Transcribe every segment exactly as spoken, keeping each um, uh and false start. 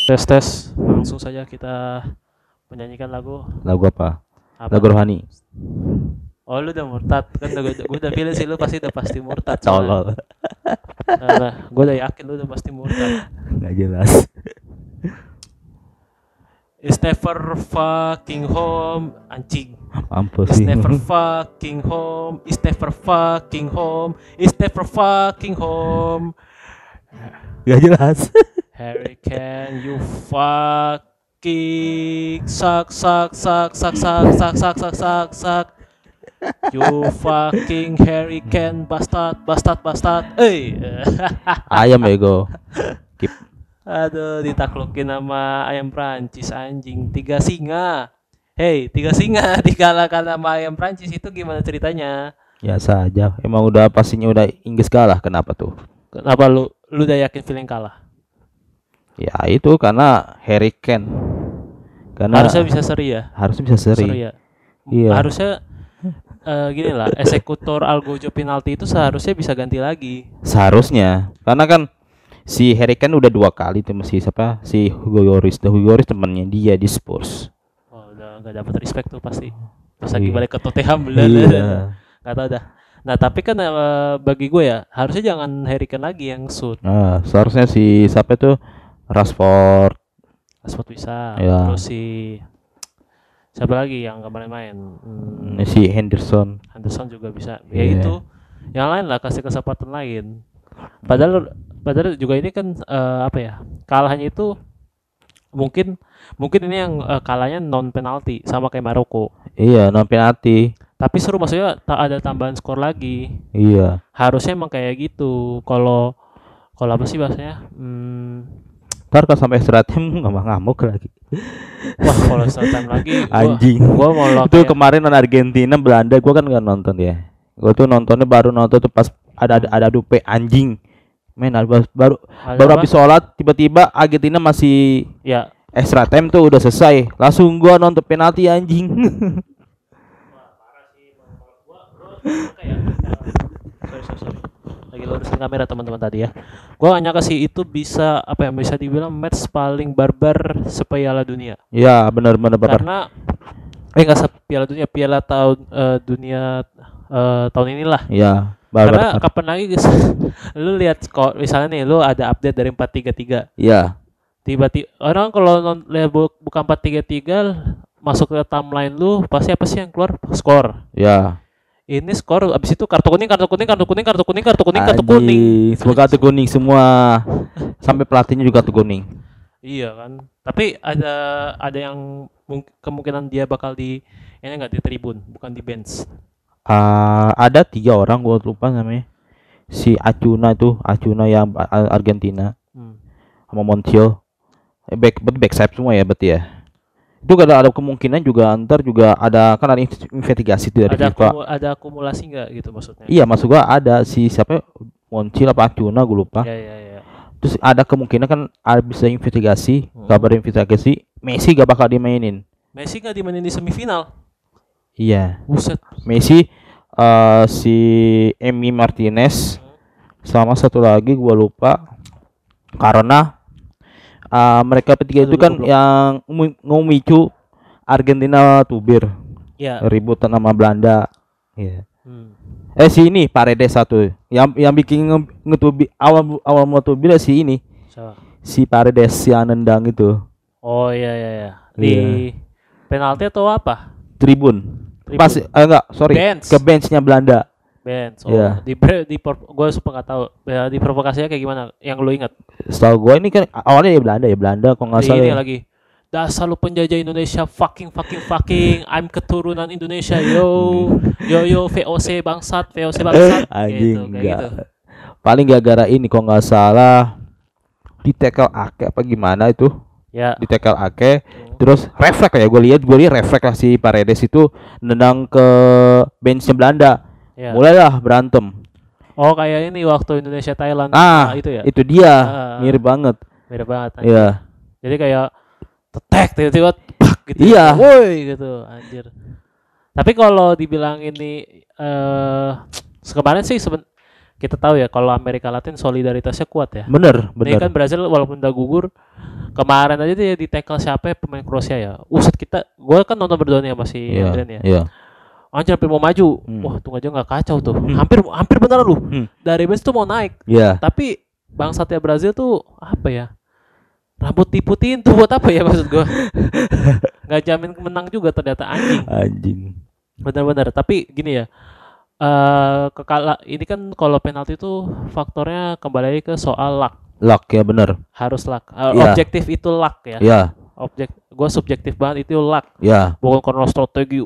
Tes tes, langsung saja kita menyanyikan lagu Lagu apa? apa? Lagu rohani. Oh lu udah murtad kan? Gue gue udah pilih sih lu pasti udah pasti murtad soalnya. Tolol. Nah, gue udah yakin lu udah pasti murtad. Nggak jelas. It's never fucking home, anjing. Mampus It's sih. never fucking home. It's never fucking home. It's never fucking home. Nggak jelas. Harry can you fucking suck suck suck suck suck suck suck suck suck suck. You fucking Harry can bastard bastard bastard. Eh. Ayam bego. Keep. Aduh, ditaklukin sama ayam Prancis anjing. Tiga singa. Hey, tiga singa dikalahkan sama ayam Prancis itu gimana ceritanya? Ya saja. Emang udah pastinya udah Inggris kalah. Kenapa tuh? Kenapa lu lu udah yakin feeling kalah? Ya itu karena Harry Kane. Karena Harusnya bisa seri ya. harusnya bisa seri. Seri ya. Iya. Harusnya eh, gini lah, eksekutor Algojo penalti itu seharusnya bisa ganti lagi. Seharusnya. Karena kan si Harry Kane udah dua kali tuh si siapa? Si Hugo Lloris. Hugo Lloris temannya dia di Spurs. Oh, udah nggak dapat respect tuh pasti. Pas lagi Iya. balik ke Tottenham bener. Iya. Nggak tahu dah. Nah tapi kan eh, bagi gue ya harusnya jangan Harry Kane lagi yang shoot. Nah, seharusnya si siapa tuh? Rashford. Rashford bisa. Ya. Terus si siapa lagi yang kemarin main? Hmm, Si Henderson. Henderson juga bisa. Ya Iya. itu. Yang lain lah kasih kesempatan lain. Padahal padahal juga ini kan eh, apa ya? Kalahnya itu mungkin mungkin ini yang eh, kalahnya non penalti sama kayak Maroko. Iya, non penalti. Tapi seru maksudnya tak ada tambahan skor lagi. Iya. Harusnya emang kayak gitu. Kalau kalau apa sih bahasanya? Hmm, Ntar kalau sampai extra time ngamuk-ngamuk lagi. wah kalau extra time lagi gua, Anjing. gua mau lo Itu kayak kemarin non Argentina Belanda gua kan nggak nonton ya. Gua tuh nontonnya baru nonton tuh pas ada ada, ada dupe anjing. Men baru baru, ada baru apa? habis sholat tiba-tiba Argentina masih Ya extra time tuh udah selesai. Langsung gua nonton penalti anjing. sorry sorry sorry lagi lurusin kamera teman-teman tadi ya. Gua gak nyangka sih itu bisa apa ya bisa dibilang match paling barbar sepiala dunia. Ya, benar-benar babar. Karena eh nggak sepiala dunia, piala tahun eh, dunia eh, tahun inilah. Ya, Karena barbar. kapan lagi guys, lu lihat kok misalnya nih lu ada update dari empat tiga tiga. Ya, Tiba-tiba orang kalau non- lihat bu- bukan empat tiga tiga masuk ke timeline lu pasti apa sih yang keluar? Skor. ya. Ini skor abis itu kartu kuning, kartu kuning, kartu kuning, kartu kuning, kartu kuning, kartu kuning. Anjing, semua kartu kuning semua. Sampai pelatihnya juga kartu kuning. Iya kan. Tapi ada ada yang mung- kemungkinan dia bakal di ini enggak di tribun, bukan di bench. Ah, ada tiga orang gua lupa namanya. Si Acuna itu, Acuna yang Ar- Argentina Hmm. sama Montiel. Eh, back berarti back sayap semua ya berarti ya. Itu ada ada kemungkinan juga antar juga ada kan ada in- investigasi tuh dari Ada FIFA. akumu- ada akumulasi enggak gitu maksudnya? Iya, maksud gua ada si siapa Montiel apa Acuna gua lupa. Iya iya iya. Terus ada kemungkinan kan ada bisa investigasi, Hmm. kabar investigasi Messi gak bakal dimainin. Messi enggak dimainin di semifinal. Iya, Buset. Messi eh, si Emi Martinez sama satu lagi gua lupa karena eh, mereka bertiga itu Aduh, kan goblok. yang ngu- ngemicu Argentina tubir Ya. ribut sama Belanda. Iya. Hmm. Eh si ini Paredes satu yang yang bikin nge- ngetubi awal awal mau tubir si ini Siapa? si Paredes si nendang itu Oh iya iya iya. Di Iya. penalti atau apa? tribun. Tribun. Pas eh, enggak sorry Bench. ke benchnya Belanda. Bench. Oh, Iya. di di gue suka nggak tahu. Ya, di provokasinya kayak gimana? Yang lu ingat? Setahu gue ini kan awalnya ya Belanda ya Belanda kok nggak Di salah. ini ya. lagi. Dasar lu penjajah Indonesia, fucking fucking fucking. I'm keturunan Indonesia, yo, yo yo V O C bangsat, V O C bangsat. Anjing gitu, kayak enggak. gitu. Paling gara-gara ini kok nggak salah di tackle Ake apa gimana itu Ya. di tackle Ake terus refleks ya gue lihat gue lihat refleks lah si Paredes itu nendang ke benchnya Belanda Ya. mulailah berantem. Oh kayak ini waktu Indonesia Thailand. Ah, Nah, itu ya. itu dia Ah. mirip banget. Beda banget. anjir. Iya. Jadi kayak tetek tiba-tiba pak gitu. Iya. Woi gitu anjir. Tapi kalau dibilang ini eh kemarin sih seben kita tahu ya kalau Amerika Latin solidaritasnya kuat ya. Bener, Ini kan bener. Brazil walaupun udah gugur kemarin aja dia di tackle siapa ya, pemain Kroasia ya. Uset kita, gue kan nonton berdua nih sama si Iya, Adrian ya. iya. Anjir hampir mau maju. Hmm. Wah, tuh aja nggak kacau tuh. Hampir hampir bener lu. Hmm. Dari bench tuh mau naik. Iya. Tapi bangsatnya Brazil tuh apa ya? Rambut diputiin tuh buat apa ya maksud gua? Nggak jamin menang juga ternyata anjing. Anjing. Benar-benar. Tapi gini ya. Eh kekala ini kan kalau penalti tuh faktornya kembali lagi ke soal luck. Luck ya bener. Harus luck. Eh, Iya. Objektif itu luck ya. Iya, Objek gua subjektif banget itu luck. iya. Bukan karena strategi.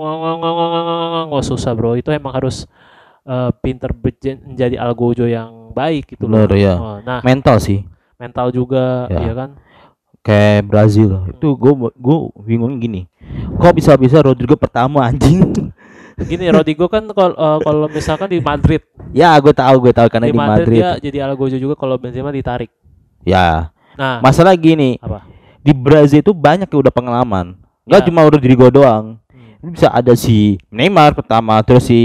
Wah, susah bro. Itu emang harus eh, pinter bejen- menjadi algojo yang baik gitu loh. Bener ya. Oh, nah, Mental sih. mental juga Ya. ya kan. Kayak Brazil itu gue gue bingung gini, kok bisa bisa Rodrigo pertama anjing. Gini Rodrigo kan kalau uh, kalau misalkan di Madrid, Ya gue tahu gue tahu karena di di Madrid, Madrid. dia jadi algojo juga kalau Benzema ditarik. Ya Nah, masalah gini, apa? di Brazil itu banyak yang udah pengalaman, nggak Ya. cuma Rodrigo doang. Hmm. Ini bisa ada si Neymar pertama, terus si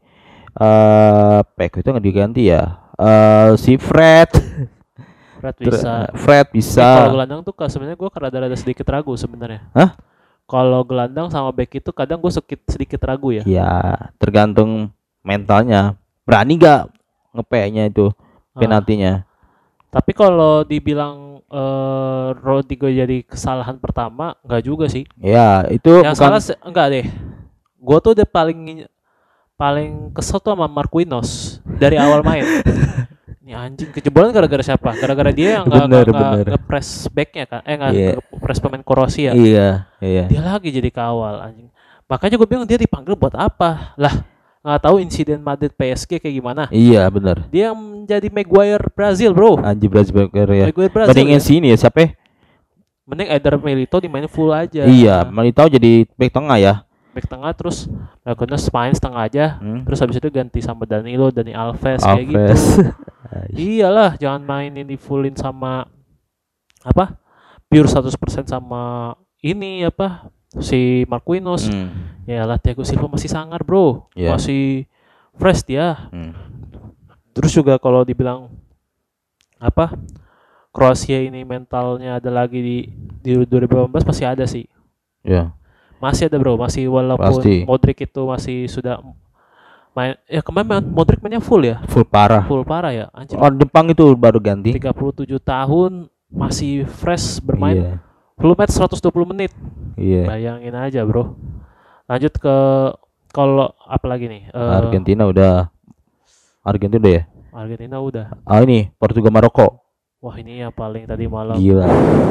eh Peko itu nggak diganti ya, eh si Fred, Fred Ter- bisa. Fred Eh, bisa. kalau gelandang tuh ka- sebenarnya gue rada-rada sedikit ragu sebenarnya. Hah? Kalau gelandang sama back itu kadang gue sedikit sedikit ragu ya. Ya tergantung mentalnya, berani nggak ngepeknya itu Ah, penaltinya. tapi kalau dibilang eh, Rodrigo jadi kesalahan pertama, enggak juga sih. Ya itu Yang bukan. salah se- enggak deh. Gue tuh udah paling paling kesel tuh sama Marquinhos dari awal main. Ini anjing kejebolan gara-gara siapa? Gara-gara dia yang nggak Bener, nggak- nggak bener. nge-press backnya kan? Eh nggak Iya. nge-press pemain Kroasia. Iya, iya. Dia lagi jadi kawal anjing. Makanya gue bingung dia dipanggil buat apa? Lah nggak tahu insiden Madrid P S G kayak gimana? Iya, benar. Dia yang menjadi Maguire Brazil bro. Anji Brazil ya. Maguire Brazil. Bandingin Ya. sini ya siapa? ya? Mending Eder Milito dimainin full aja. Iya, Militao jadi back tengah ya. Back tengah terus Marquinhos main setengah aja. Hmm. Terus habis itu ganti sama Danilo, Dani Alves, kayak gitu. Alves. Iyalah, jangan mainin di fullin sama apa? Pure seratus persen sama ini apa? Si Marquinhos. Hmm. Ya lah Thiago Silva masih sangar, Bro. Iya. Masih fresh dia. Hmm. Terus juga kalau dibilang apa? Kroasia ini mentalnya ada lagi di di dua ribu delapan belas masih ada sih. Ya. Masih ada, Bro. Masih walaupun Pasti. Modric itu masih sudah main ya kemarin Modric mainnya full ya. Full parah. Full parah ya. Anjir. Oh, Jepang itu baru ganti. tiga puluh tujuh tahun masih fresh bermain Iya. full match seratus dua puluh menit. Iya. Bayangin aja, Bro. Lanjut ke kalau apa lagi nih? Eh, Argentina udah. Argentina udah ya. Argentina udah. Ah ini Portugal Maroko. Wah, ini yang paling tadi malam. Gila.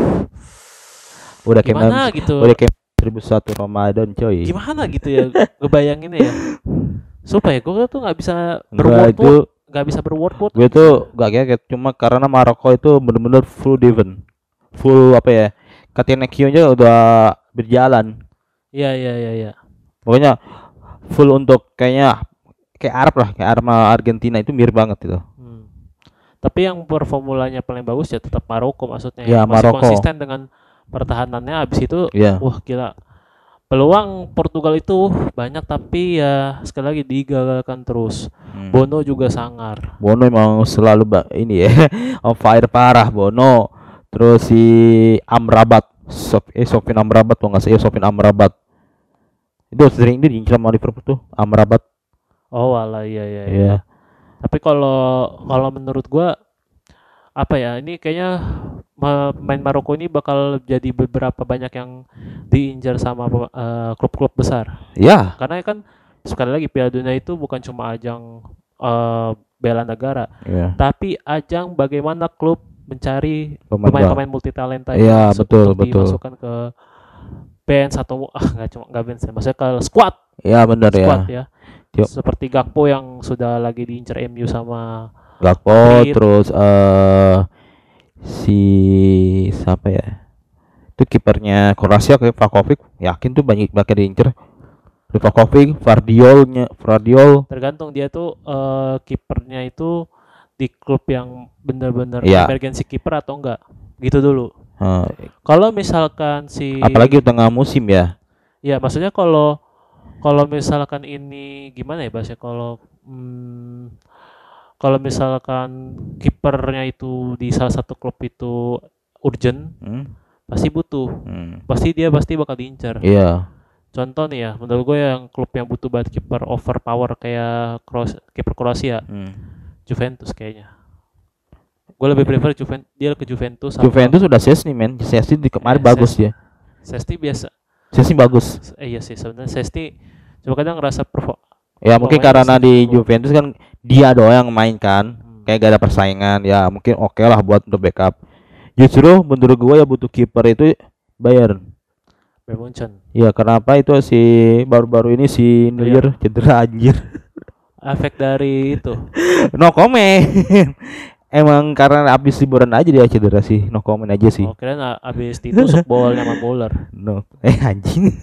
Udah Gimana kayak gitu? udah kayak seribu satu Ramadan coy. Gimana gitu ya? Ngebayanginnya ya. Supaya gue tuh nggak bisa Enggak berword itu word, nggak bisa berword word. gue tuh gak kaget cuma karena Maroko itu bener-bener full defense. Full apa ya? Catenaccio-nya udah berjalan. Iya, iya, iya, iya. Pokoknya full untuk kayaknya kayak Arab lah, kayak Arab sama Argentina itu mirip banget itu. Hmm. Tapi yang performulanya paling bagus ya tetap Maroko maksudnya. Ya, Masih Maroko. konsisten dengan pertahanannya. Abis itu, Iya. wah gila. Peluang Portugal itu banyak tapi ya sekali lagi digagalkan terus. Hmm. Bono juga sangar. Bono emang selalu ba- ini ya on fire parah Bono. Terus si Amrabat, Sof eh Sofyan Amrabat tuh nggak sih Sofyan Amrabat. Itu sering dia diincar sama Liverpool tuh Amrabat. Oh walah iya iya. iya. Iya. Tapi kalau kalau menurut gua apa ya ini kayaknya ma- pemain Maroko ini bakal jadi beberapa banyak yang diincar sama eh, klub-klub besar. Ya. Karena kan sekali lagi Piala Dunia itu bukan cuma ajang eh, bela negara, Iya. tapi ajang bagaimana klub mencari Pemain pemain-pemain multitalenta Iya, yang masuk betul, untuk betul. dimasukkan ke bench atau ah nggak cuma nggak bench ya, maksudnya ke squad Ya benar ya. squad ya. Yuk. Seperti Gakpo yang sudah lagi diincar M U sama Gakpo Madrid. terus eh si siapa ya? Itu kipernya Kroasia kayak Vakovic, yakin tuh banyak banget diincer. Vakovic, Vardiolnya, Vardiol. tergantung dia tuh eh, kipernya itu di klub yang benar-benar Iya. emergency kiper atau enggak gitu dulu. Eh, Kalau misalkan si apalagi tengah musim ya. ya maksudnya kalau kalau misalkan ini gimana ya bahasnya kalau hmm, kalau misalkan kipernya itu di salah satu klub itu urgent, Hmm? pasti butuh. Hmm. Pasti dia pasti bakal diincar. Iya. Contoh nih ya, menurut gue yang klub yang butuh banget kiper overpower kayak Kroos, kiper Kroasia, Hmm. Juventus kayaknya. Gue lebih prefer Juventus, dia ke Juventus sama Juventus udah Szczesny men. Szczesny di kemarin Eh, bagus Ses- dia. Sesti biasa. Szczesny bagus. Eh, iya sih sebenarnya Sesti cuma kadang ngerasa perform. Ya mungkin Pemain karena masih di cukup. Juventus kan dia doang yang main kan. Hmm. Kayak gak ada persaingan. Ya mungkin oke lah buat untuk backup. Justru menurut gua ya butuh kiper itu Bayern. Bayern Munchen. Ya kenapa itu si baru-baru ini si Neuer cedera anjir. Efek dari itu. No comment. Emang karena abis liburan aja dia cedera sih. No comment aja sih. Oh, kirain a- abis ditusuk bol sama bowler. No. Eh anjing.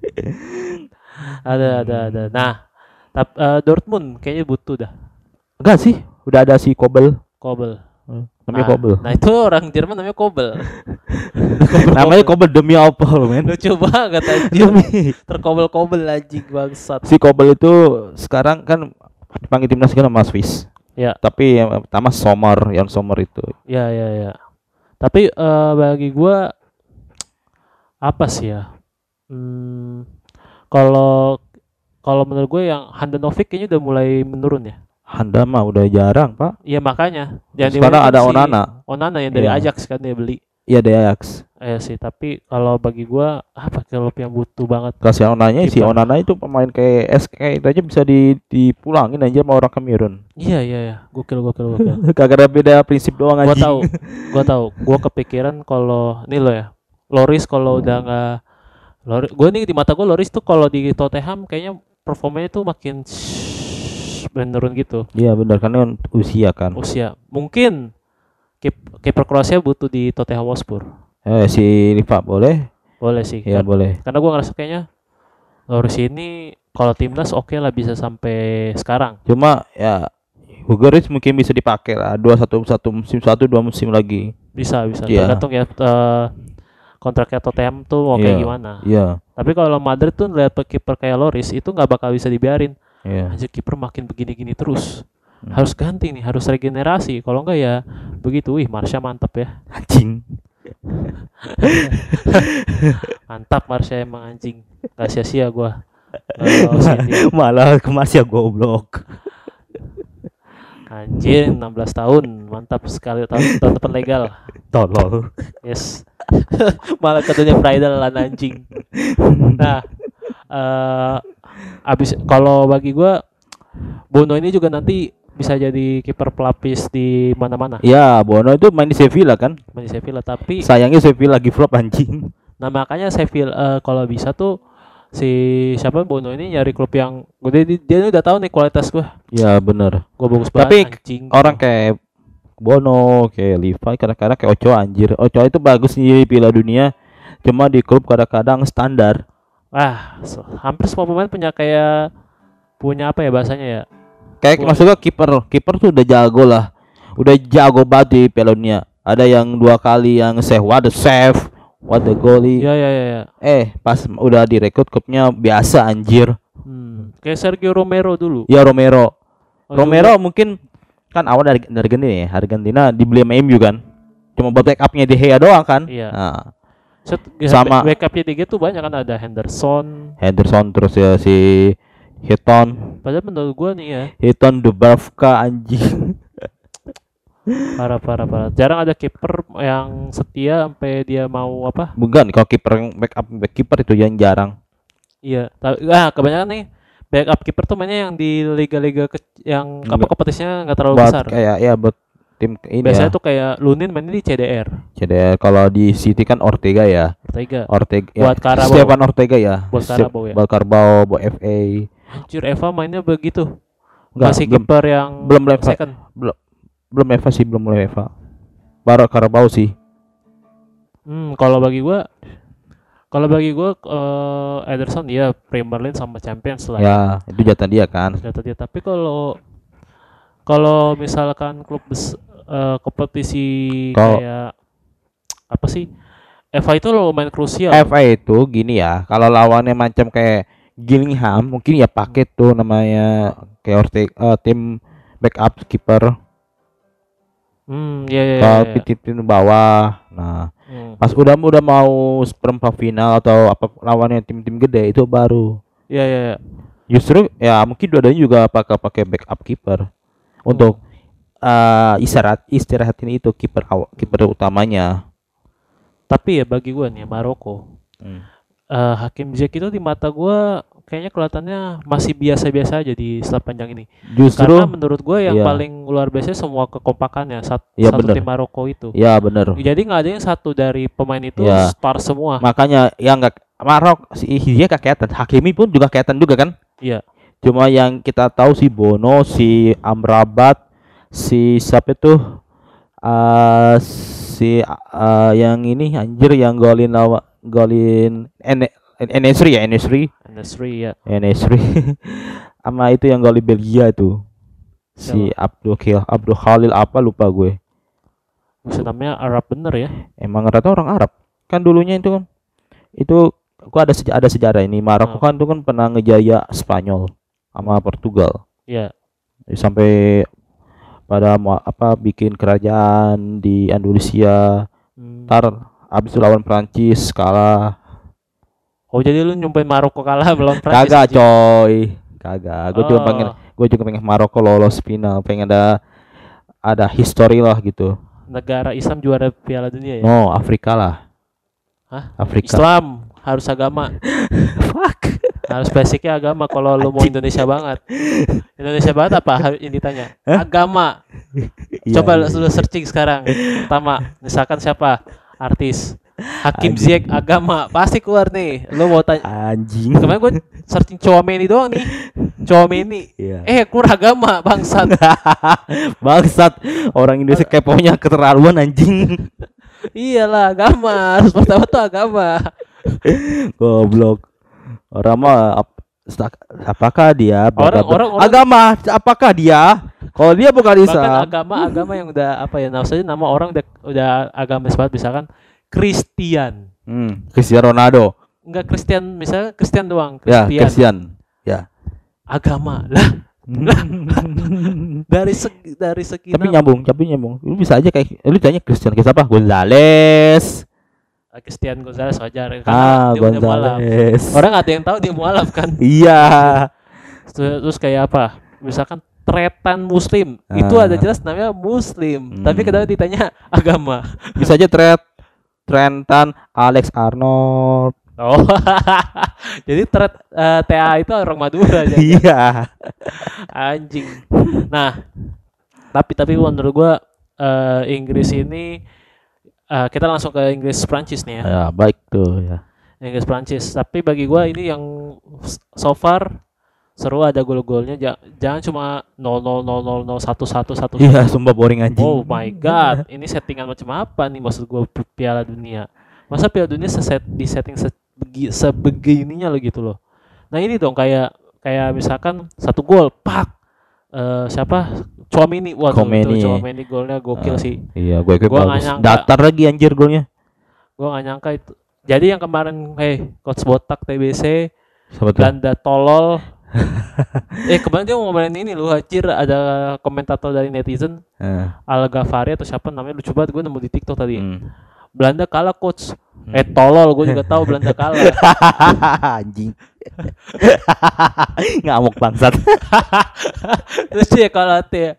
Ada ada ada. Nah, tap, eh, Dortmund kayaknya butuh dah. Enggak sih. Udah ada si Kobel. Kobel. Namanya Nah, Kobel. Nah, itu orang Jerman namanya Kobel. Namanya Kobel demi apa lo men? Lucu banget anjir. Demi. Terkobel-kobel anjing bangsat. Si Kobel itu sekarang kan dipanggil timnas kan sama Swiss. Ya, Tapi yang pertama Sommer, yang Sommer itu. ya, ya, ya. Tapi eh, bagi gua apa sih ya? Hmm, kalau kalau menurut gue yang Handanovic kayaknya udah mulai menurun ya. Handa mah udah jarang, Pak. Iya makanya. Yang Sekarang dimainin ada si Onana. Onana yang dari Iya. Ajax kan dia beli. Iya dari Ajax. Eh sih, tapi kalau bagi gua apa klub yang butuh banget. Kasih Onanya si Kiper. Onana itu pemain kayak S K itu aja bisa di dipulangin aja sama orang Kamerun. Iya iya ya, gokil gokil gokil. Kagak ada beda prinsip doang Gua anjing. tahu, gua tahu. Gua kepikiran kalau ini lo ya. Loris kalau udah nggak Loris, gua nih di mata gua Loris tuh kalau di Tottenham kayaknya performanya tuh makin menurun gitu. Iya benar karena kan usia kan. Usia. Mungkin kip- kiper Kroasia butuh di Tottenham Hotspur. Eh si Riva boleh? Boleh sih. Iya kan. boleh. Karena gua ngerasa kayaknya Loris ini kalau timnas oke lah bisa sampai sekarang. Cuma ya Hugo Lloris mungkin bisa dipakai lah dua satu satu musim satu dua musim lagi. Bisa bisa. Iya. Tergantung ya eh, kontraknya Tottenham tuh mau kayak Iya. gimana. Iya. Tapi kalau Madrid tuh lihat kiper kayak Loris itu nggak bakal bisa dibiarin. Iya. Anjir kiper makin begini-gini terus. Hmm. Harus ganti nih, harus regenerasi. Kalau enggak ya begitu. Wih, Marsha mantap ya. Anjing. Mantap Marsha emang anjing. Gak sia-sia gua. Eh, usin dia. Malah kemas ya goblok. Anjir enam belas tahun. Mantap sekali tahun, tahun depan legal. Tolol. Yes. Malah katanya bridal lah anjing. Nah, eh abis kalau bagi gua Bono ini juga nanti bisa jadi kiper pelapis di mana-mana. Ya, Bono itu main di Sevilla kan? Main di Sevilla tapi Sayangnya Sevilla lagi flop anjing. nah makanya Sevilla eh, kalau bisa tuh si siapa Bono ini nyari klub yang gede dia, dia udah tahu nih kualitas gua. Ya bener. Gua bagus Tapi banget anjing. Orang kayak Bono, kayak Levi, kadang-kadang kayak Ochoa anjir. Ochoa itu bagus di Piala Dunia. Cuma di klub kadang-kadang standar. Wah, so- hampir semua pemain punya kayak punya apa ya bahasanya ya? Kayak Boleh. maksudnya kiper, kiper tuh udah jago lah. Udah jago banget di Piala Dunia. Ada yang dua kali yang save, what the save, what the goalie. Ya ya ya. ya. Eh, pas udah direkrut klubnya biasa anjir. Hmm. Kayak Sergio Romero dulu. Ya Romero. Oh, Romero mungkin kan awal dari dari Argentina ya. Argentina dibeli sama M U kan. Cuma buat backupnya De Gea doang kan. Iya. Nah, Set, Sama- backupnya tiga tuh banyak kan ada Henderson. Henderson terus ya si Hilton, Padahal menurut gua nih ya Hilton Dubravka anjing. parah parah parah. Jarang ada kiper yang setia sampai dia mau apa? Bukan kalau kiper yang backup back kiper itu yang jarang. Iya. ta- Ah kebanyakan nih backup kiper tuh mainnya yang di liga-liga ke- yang apa Nggak. kompetisinya nggak terlalu Buat besar. kayak ya buat tim ini Biasanya ya. tuh kayak Lunin mainnya di C D R. Jadi kalau di City kan Ortega ya. Ortega. Ortega ya. Buat Carabao. Stefan Ortega ya. Buat Ste- Carabao ya. Buat Carabao, buat F A. Anjir Eva mainnya begitu. Enggak, Masih belum kiper yang belum level. second. belum Eva sih, belum mulai Eva. Baru Carabao sih. Hmm, kalau bagi gua kalau bagi gua eh, Ederson dia Premier League sama Champions lah. Ya, itu jatah dia kan. Kata dia. Tapi kalau kalau misalkan klub bes, eh, kompetisi Kalau- kayak apa sih? Eva itu lumayan krusial. F A itu gini ya, kalau lawannya macam kayak Gillingham, mungkin ya pakai tuh namanya kayak Ortega, eh, tim backup kiper. Hmm, ya ya Kalau ya. titipin bawah. Nah, Hmm. pas udah udah mau perempat final atau apa lawannya tim-tim gede itu baru. Ya ya ya. Justru ya mungkin dua-duanya juga pakai pakai backup kiper untuk Hmm. uh, istirahat istirahatin itu kiper awal kiper utamanya. Tapi ya bagi gua nih Maroko, Hmm. eh, Hakim Ziyech itu di mata gua kayaknya kelihatannya masih biasa-biasa aja di setelah panjang ini. Justru Karena menurut gue yang iya. paling luar biasa semua kekompakannya sat- Iya, satu bener. tim Maroko itu. Ya bener. Jadi nggak ada yang satu dari pemain itu Ya. star semua. Makanya yang nggak Marok si dia kelihatan, Hakimi pun juga kelihatan juga kan. Iya. Cuma yang kita tahu si Bono, si Amrabat, si siapa itu uh, si uh, yang ini anjir yang golin lawa golin Ene Enesri ya Enesri Industry ya. Enesri sama itu yang golin Belgia itu si Siapa? Abdul Khil Abdul Khalil apa lupa gue. Bisa namanya Arab bener ya. Emang rata orang Arab kan dulunya itu kan itu gua ada seja- ada sejarah ini Maroko Hmm. kan itu kan pernah ngejaya Spanyol sama Portugal. Iya. Sampai pada mau apa bikin kerajaan di Andalusia. Hmm. Ntar abis itu lawan Prancis kalah. Oh jadi lu nyumpain Maroko kalah melawan Prancis? Kagak anjing? coy, kagak. Gue juga Oh. pengen, gue juga pengen Maroko lolos final, pengen ada ada history lah gitu. Negara Islam juara Piala Dunia ya? No, Afrika lah. Hah? Afrika. Islam harus agama. Fuck. Harus basicnya agama kalau lu mau Indonesia banget. Indonesia banget apa ha- ini ditanya? Agama. Iya, Coba iya. lu searching sekarang. Pertama, misalkan siapa? Artis. Hakim Anjing. Ziyech agama pasti keluar nih. Lu mau tanya. Anjing. Kemarin gue searching Chouameni doang nih. Chouameni. Iya. Eh, keluar agama bangsat. Bangsat, orang Indonesia keponya keterlaluan anjing. Iyalah agama. Harus pertama tuh agama. Goblok. Orang mah ap- stak- apakah dia bla, bla, Orang- bla. orang- orang- agama apakah dia? Kalau dia bukan Bahkan Islam. agama-agama yang udah apa ya? Nah, saja nama orang udah, udah agamis banget misalkan Kristen. Hmm, Cristiano Ronaldo. Enggak Kristen, misalnya Kristen doang. Ya, Kristen. Christian. Ya. Agama. Lah, dari segi dari segi Tapi nama. nyambung, tapi nyambung. Lu bisa aja kayak lu tanya Christian kayak siapa? Gonzales. Ah, Christian Gonzalez wajar karena Ah, dia udah mualaf. Gonzales. Orang nggak ada yang tahu dia mualaf kan. Iya. Terus, terus kayak apa? Misalkan tretan muslim. Itu Ah. ada jelas namanya muslim. Hmm. Tapi kadang ditanya agama. Bisa aja Trent Trentan, Alex Arnold. Oh. Jadi tret eh, T A itu orang Madura jadi. Iya. Anjing. Nah, tapi tapi menurut gua eh, Inggris ini eh, kita langsung ke Inggris Prancis nih ya. Ya, baik tuh ya. Inggris Prancis. Tapi bagi gua ini yang s- so far seru ada gol-golnya. Ja- jangan cuma nol nol nol nol nol satu satu satu. Iya, sumpah boring anjing. Oh my god, ini settingan macam apa nih maksud gua pi- Piala Dunia? Masa Piala Dunia seset di setting sebegi, sebegininya lo gitu loh. Nah ini dong kayak kayak misalkan satu gol, pak, Eh siapa? Chouameni, waduh Chouameni. itu Chouameni golnya gokil Ah, sih. Iya, gue gue Gua nggak bagus. nyangka. Datar lagi anjir golnya. Gua nggak nyangka itu. Jadi yang kemarin, hey, coach botak T B C, Siapa tuh? Belanda tolol. eh kemarin dia mau ngomongin ini lu hajir ada komentator dari netizen Eh, Al Ghafari atau siapa namanya lucu banget gue nemu di TikTok tadi. hmm. Belanda kalah coach. Eh tolol gue juga tahu Belanda kalah. Anjing. Ngamuk bangsat. Terus dia kalah tuh ya.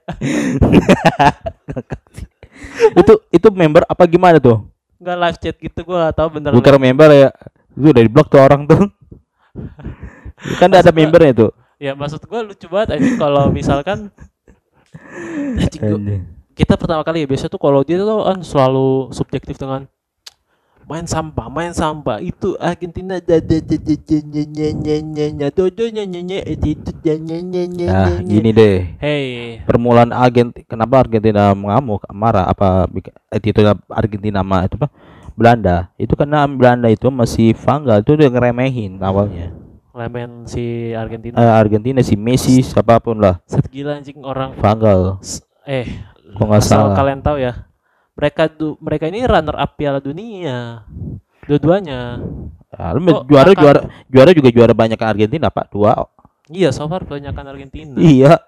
itu itu member apa gimana tuh? Enggak live chat gitu gue gak tahu bener. Bukan member ya. Itu udah di blok tuh orang tuh. Kan ada Maksud gua- membernya tuh. Ya maksud gue lucu banget anjing kalau misalkan anjing, gua- Anjing. kita pertama kali ya biasa tuh kalau dia tuh kan selalu subjektif dengan main sampah, main sampah itu Argentina da da da da da nya nya nya nya nya dodo nya nya nya itu nya nya nya nya Nah, nya. gini deh. Hey, Permulaan Argentina, kenapa Argentina mengamuk, marah apa bik- attitude Argentina sama itu apa? Belanda. Itu karena Belanda itu masih Vanggal itu udah ngeremehin awalnya. lemen si Argentina. Eh, Argentina si Messi siapapun lah, Set gila anjing orang. Vanggal. S- Eh, Kok nggak asal salah. kalian tahu ya. Mereka du- mereka ini runner up Piala Dunia. Dua-duanya. Ya, lu Kok juara akan- juara juara juga juara banyak kan Argentina Pak, dua. Iya, so far kebanyakan Argentina. Iya.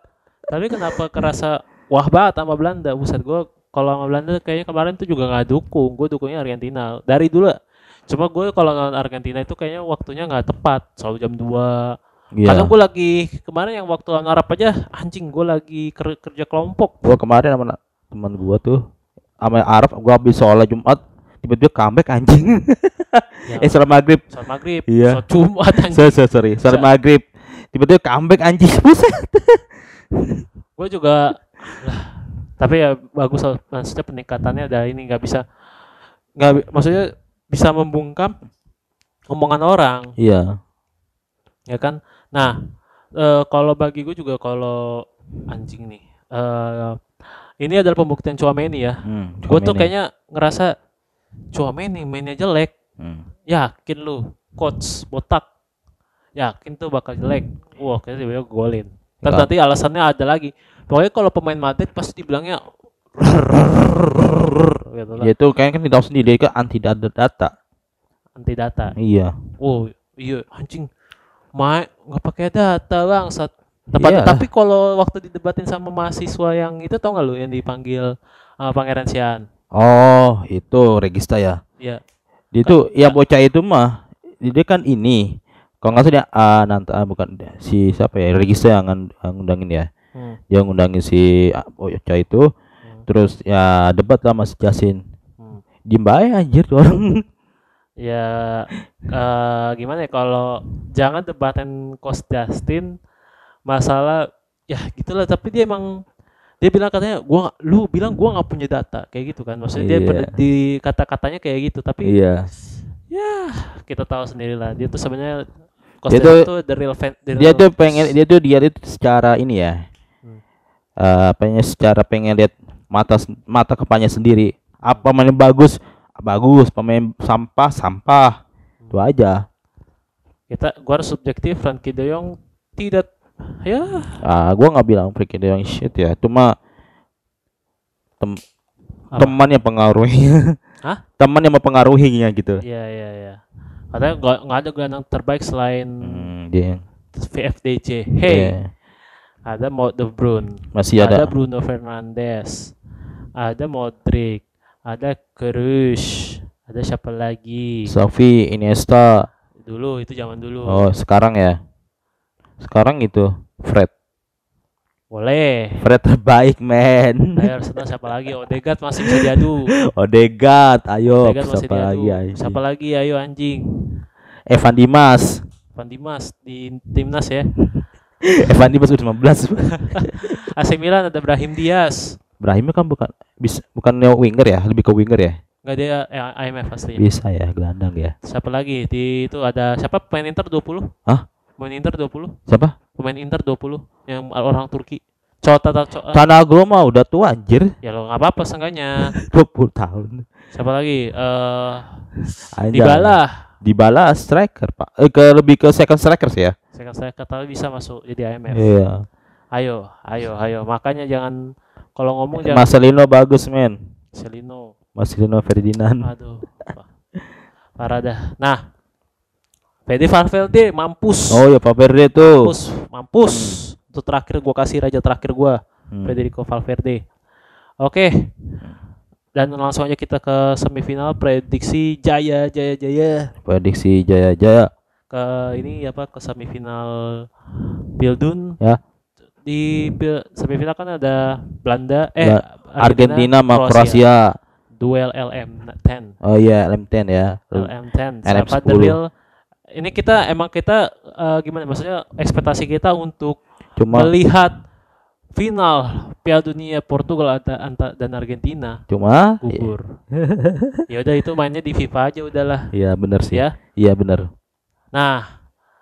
Tapi kenapa kerasa wah banget sama Belanda? Buset gue kalau sama Belanda kayaknya kemarin tuh juga nggak dukung. Gue dukungnya Argentina dari dulu. Cuma gue kalau nonton Argentina itu kayaknya waktunya nggak tepat. Selalu jam dua. Kadang Iya. gue lagi kemarin yang waktu lawan Arab aja anjing gue lagi ker- kerja kelompok. Gua kemarin sama na- teman gua tuh sama Arab, gua habis sholat Jumat tiba-tiba comeback anjing. Ya, eh sholat maghrib. sholat maghrib, Iya. sholat Jumat So, anjing. so, sorry, sholat Sa- maghrib. Tiba-tiba comeback anjing. Buset. Gue juga lah, tapi ya bagus loh, maksudnya peningkatannya ada ini nggak bisa nggak bi- maksudnya bisa membungkam omongan orang Iya. ya kan. Nah eh, kalau bagi gue juga kalau anjing nih eh ini adalah pembuktian Chouameni ya. Hmm, Gue tuh Chouameni. kayaknya ngerasa Chouameni mainnya jelek, Hmm. yakin lu coach botak yakin tuh bakal jelek. Wah kayaknya tiba-tiba golin. Terus Enggak. nanti alasannya ada lagi. Pokoknya kalau pemain Madrid pasti dibilangnya gitu lah. Ya itu kayaknya kan kita tahu sendiri dia kan anti data data. Anti data. Iya. Oh iya anjing. Main nggak pakai data bang. Saat Tepat, Iya. tapi kalau waktu didebatin sama mahasiswa yang itu tau nggak lu yang dipanggil uh, Pangeran Sian? Oh, itu Regista ya. Ya. Dia itu ya bocah itu mah dia kan ini. Kalau nggak salah dia ah, nanti ah, bukan si siapa ya Regista yang ngan- yang ngundangin ya. Hmm. Dia ngundangin si ah, bocah itu. Hmm. Terus ya debat lah sama si Jasin. Hmm. Diem bae anjir tuh orang. Ya uh, gimana ya kalau jangan debatin Coach Justin masalah ya gitulah, tapi dia emang dia bilang katanya gua lu bilang gua nggak punya data kayak gitu kan, maksudnya dia Iya. ber- di kata-katanya kayak gitu, tapi Iya. ya kita tahu sendiri lah dia tuh sebenarnya Coach Dia Justin tuh- tuh the real fan the Dia real- tuh pengen dia tuh dia itu secara ini ya. Hmm. Eh pengen secara pengen lihat mata mata kepalanya sendiri. Apa pemain bagus? Bagus, pemain sampah sampah. Itu aja. kita gua harus subjektif. Frankie De Jong tidak ya Ah, gua nggak bilang Frankie De Jong shit ya. Cuma tem- Apa? teman yang pengaruhinya. Hah? Teman yang mempengaruhinya gitu. ya ya ya katanya nggak nggak ada gelandang terbaik selain Hmm, dia. V F D C. Hey, Iya. ada Mo De Bruyne, Masih ada, ada. Bruno Fernandes, ada Modric, ada Kroos, ada siapa lagi? Xavi, Iniesta. Dulu itu zaman dulu. Oh, sekarang ya. Sekarang itu Fred. Boleh. Fred terbaik, men. Ayo Arsenal siapa lagi? Odegaard masih bisa diadu. Odegaard, ayo Odegaard masih siapa diadu. lagi anjing? Siapa lagi? Ayo anjing. Evan Dimas. Van Dimas di timnas ya. Evan Dimas udah lima belas. A C Milan ada Brahim Diaz. Brahim kan bukan bisa bukan neo winger ya, lebih ke winger ya. Enggak, dia eh, I M F aslinya. Bisa ya, gelandang ya. Siapa lagi? Di itu ada siapa pemain Inter dua puluh? Hah? Pemain Inter dua puluh? Siapa? Pemain Inter dua puluh yang orang Turki. Cota Cota. Tanagro mah udah tua anjir. Ya lo nggak apa-apa seenggaknya. dua puluh tahun. Siapa lagi? Eh Anjay. Dybala. Dybala striker, Pak. Eh, ke lebih ke second striker sih ya. Saya saya kata bisa masuk jadi I M F. Iya. Ayo, ayo, ayo. Makanya jangan kalau ngomong jangan Marcelino bagus, men. Celino. Marcelino Ferdinand. Aduh. Wah, parah dah. Nah, Fede Valverde mampus. Oh ya, Valverde tuh. Mampus, mampus. Itu terakhir gua kasih raja terakhir gua, Hmm. Federico Valverde. Oke. Dan langsung aja kita ke semifinal prediksi Jaya Jaya Jaya Prediksi Jaya Jaya. ke ini apa ke semifinal Pildun. Ya. Di pil- semifinal kan ada Belanda eh Ba- Argentina sama Kroasia. Duel L M sepuluh. Oh iya, L M sepuluh ya. L M sepuluh. L M Siapa the sepuluh. real? Ini kita emang kita eh, gimana maksudnya ekspektasi kita untuk Cuma melihat final Piala Dunia Portugal ada anta dan Argentina cuma gugur. Ya udah itu mainnya di FIFA aja udahlah iya benar sih. ya. Iya benar. Nah,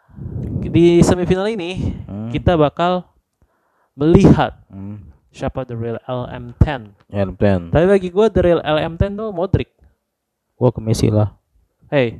di semifinal ini Hmm. kita bakal melihat Hmm. siapa the real L M sepuluh. L M sepuluh. Tapi bagi gue the real L M sepuluh tuh Modric. Gua ke Messi lah. Hey,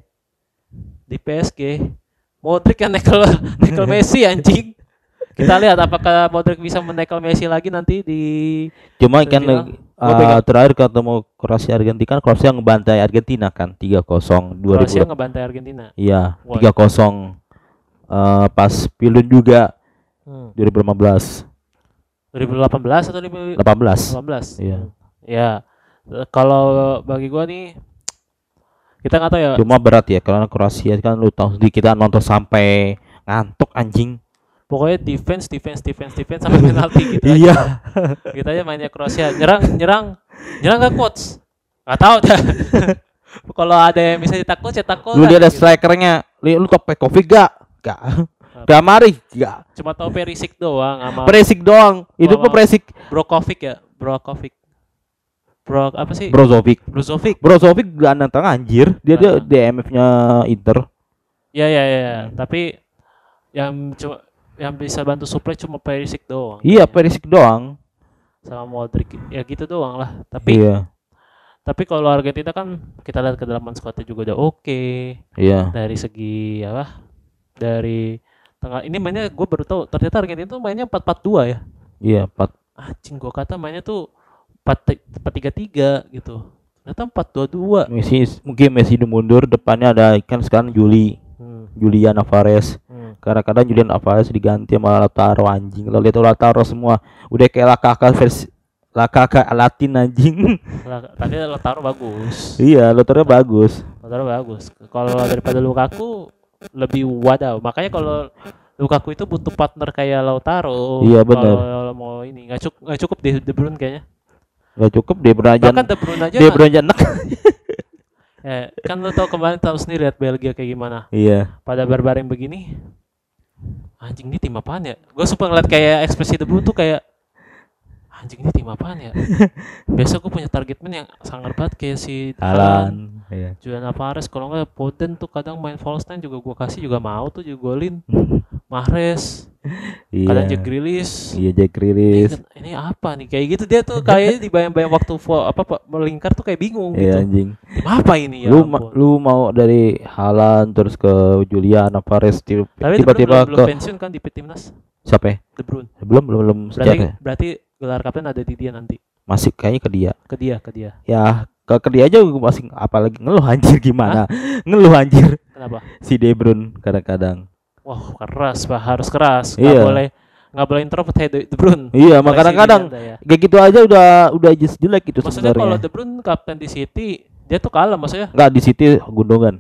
di P S G Modric yang nekel nekel Messi anjing. Kita lihat apakah Modric bisa menekel Messi lagi nanti di Cuma kan Semifinal. uh, Gua pegang. terakhir ketemu Kroasia Argentina kan Kroasia ngebantai Argentina kan tiga kosong Kroasia dua ribu. ngebantai Argentina. Iya, Wah. tiga kosong. Eh pas Pilun juga Hmm. dua ribu lima belas. dua ribu delapan belas atau dua ribu delapan belas. delapan belas. Iya. Ya. Eh, Kalau bagi gua nih kita nggak tahu ya. Cuma berat ya karena Kroasia kan lu tahu sendiri kita nonton sampai ngantuk anjing. Pokoknya defense, defense, defense, defense sampai penalti gitu Iya. aja. Kita aja mainnya Kroasia, nyerang, nyerang, nyerang nggak coach? Nggak tahu dah. Kalau ada yang bisa cetak gol, cetak gol. Lu dah, dia ada gitu. strikernya. Li- Lu tau Pekovic gak? Gak. Gak mari, gak. Cuma tahu Perisic doang sama Presik doang. Itu Sama- pun Presik. Brokovic ya, Brokovic. Bro apa sih? Brozovic. Brozovic. Brozovic gak nantang anjir. Dia dia Ah. D M F-nya Inter. Ya ya ya, ya. Tapi yang cuma yang bisa bantu supply cuma Perisic doang. Iya, Presik doang. Sama Modric. Ya gitu doang lah. Tapi Iya. tapi kalau Argentina kan kita lihat kedalaman squadnya juga udah oke. Iya. Dari segi apa? Dari tengah ini mainnya gue baru tahu ternyata Argentina tuh mainnya empat empat dua ya. Iya, empat. Anjing gue kata mainnya tuh empat tiga tiga gitu. Ternyata empat dua dua. Messi mungkin Messi udah mundur, depannya ada kan sekarang Juli, Hmm. Julian Alvarez. Hmm. Kadang-kadang Julian Alvarez diganti sama Lautaro anjing. Lo lihat Lautaro semua udah kayak Lakaka versi Lakaka Latin anjing. Lah, tapi Lautaro bagus. Iya, Lautaro bagus. Lautaro bagus. Kalau daripada Lukaku lebih wadaw. Makanya kalau Lukaku itu butuh partner kayak Lautaro. Iya, benar. Kalau mau ini nggak cukup nggak cukup di De Bruyne kayaknya. Gak cukup dia beranjak. Bahkan De Bruyne aja. Dia kan- beranjak nek. eh, kan lo tau kemarin tahu sendiri lihat Belgia kayak gimana. Iya. Pada barbaring begini. Anjing ini tim apaan ya? Gue suka ngeliat kayak ekspresi De Bruyne tuh kayak anjing ini tim apaan ya? Biasa gue punya target man yang sangar banget kayak si Haaland, Alan. Iya. Julian Alvarez. Kalau nggak Foden tuh kadang main false nine juga gue kasih juga mau tuh juga golin. Mahrez, kadang Jack Iya. Grealish. Iya, Jack Ini, Grealish. ini apa nih? Kayak gitu dia tuh kayaknya dibayang-bayang waktu fo- apa Pak, melingkar tuh kayak bingung Iya gitu. anjing. Tim apa ini ya? Lu ma- ampun. lu mau dari Haaland terus ke Julian Alvarez ti- Tapi De Bruyne tiba-tiba belum, belum ke pensiun kan di timnas siapa ya? De Bruyne. Belum belum belum Berarti sejak ya? berarti gelar kapten ada di dia nanti. Masih kayaknya ke dia. Ke dia, ke dia. Ya ke, ke dia aja gue masih apalagi ngeluh anjir gimana? Ngeluh anjir Kenapa? si De Bruyne kadang-kadang. Wah, keras, Pak. Harus keras. Nggak Iya. boleh nggak boleh introvert kayak De De Bruyne. Iya, Boleh maka kadang-kadang sini santai ya. kayak gitu aja udah udah just jelek gitu Maksudnya kalau sebenarnya. De Bruyne kapten di City, dia tuh kalah maksudnya Enggak di City Gundogan.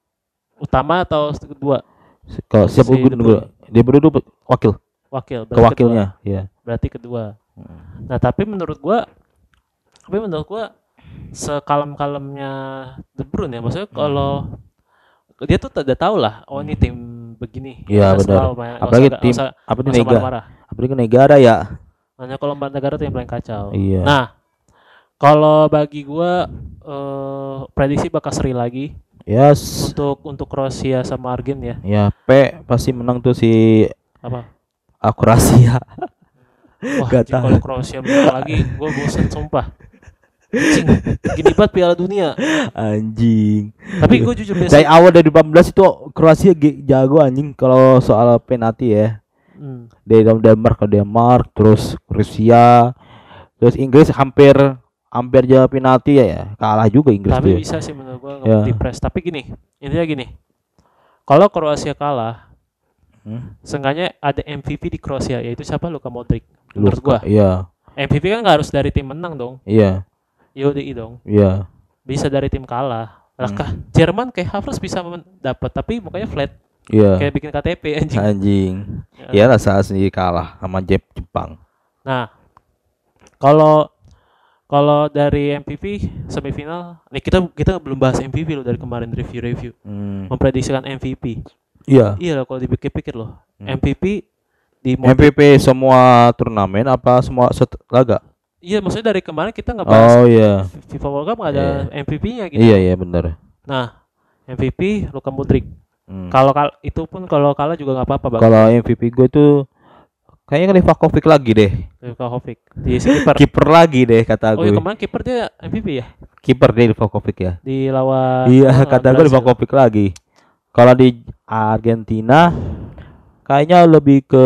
utama atau kedua Kalau siapa Si De Gundogan? De Bruyne tuh wakil, wakil. ke berarti wakilnya, iya. kedua. Berarti kedua. Nah, tapi menurut gua tapi menurut gua sekalem-kalemnya De Bruyne ya, maksudnya kalau dia tuh udah tahu lah, oh ini tim begini. Iya, Nggak usah benar. tahu, nggak Apalagi usah- tim nggak usah- apa nih nggak usah negara? marah-marah. Apalagi negara ya. Hanya kalau empat negara tuh yang paling kacau. Iya. Nah, kalau bagi gua eh, prediksi bakal seri lagi Yes. untuk untuk Kroasia sama Argen ya. Ya, P pasti menang tuh si Apa? ah, Kroasia. Wah, Gak anjing, tahu. kalau Kroasia menang lagi, gua bosan sumpah. Anjing, gini banget Piala Dunia. Anjing. Tapi gua jujur Dari biasa. awal dari delapan belas itu Kroasia ge- jago anjing kalau soal penalti ya. Hmm. Dari Denmark ke Denmark, terus Rusia, terus Inggris hampir hampir aja penalti ya, ya. Kalah juga Inggris Tapi tuh. bisa sih menurut gua Ya. di press. Tapi gini, intinya gini. Kalau Kroasia kalah, Hmm? seenggaknya ada M V P di Kroasia, yaitu siapa? Luka Modric. Menurut Luka, gua, Iya, M V P kan nggak harus dari tim menang dong. iya, Yodi dong. iya. Bisa dari tim kalah. Lah Hmm. kah Jerman kayak Havertz bisa men- dapat, tapi mukanya flat, Iya. kayak bikin K T P anjing. Anjing. Ya. Iyalah saat sendiri kalah sama Jep Jepang. Nah, kalau kalau dari M V P semifinal, nih kita kita belum bahas M V P loh dari kemarin review-review. Hmm. Memprediksikan M V P. Iya. Iya loh kalau dipikir-pikir loh. Hmm. M V P di M V P semua turnamen apa semua set laga? Iya, maksudnya dari kemarin kita nggak bahas Oh iya. FIFA World Cup nggak ada M V P-nya gitu. Iya iya benar. Nah, M V P Luka Modric. Hmm. Kalau kal itu pun kalau kalah juga nggak apa-apa, Bang. Kalau M V P gue tuh kayaknya Livakovic lagi deh. Luka Jovic di si kiper. Kiper lagi deh kata Oh iya, gue. kemarin kiper dia M V P ya Kiper deh Livakovic ya. di lawan Iya lawan kata gue Brazil. Livakovic lagi. Kalau di Argentina kayaknya lebih ke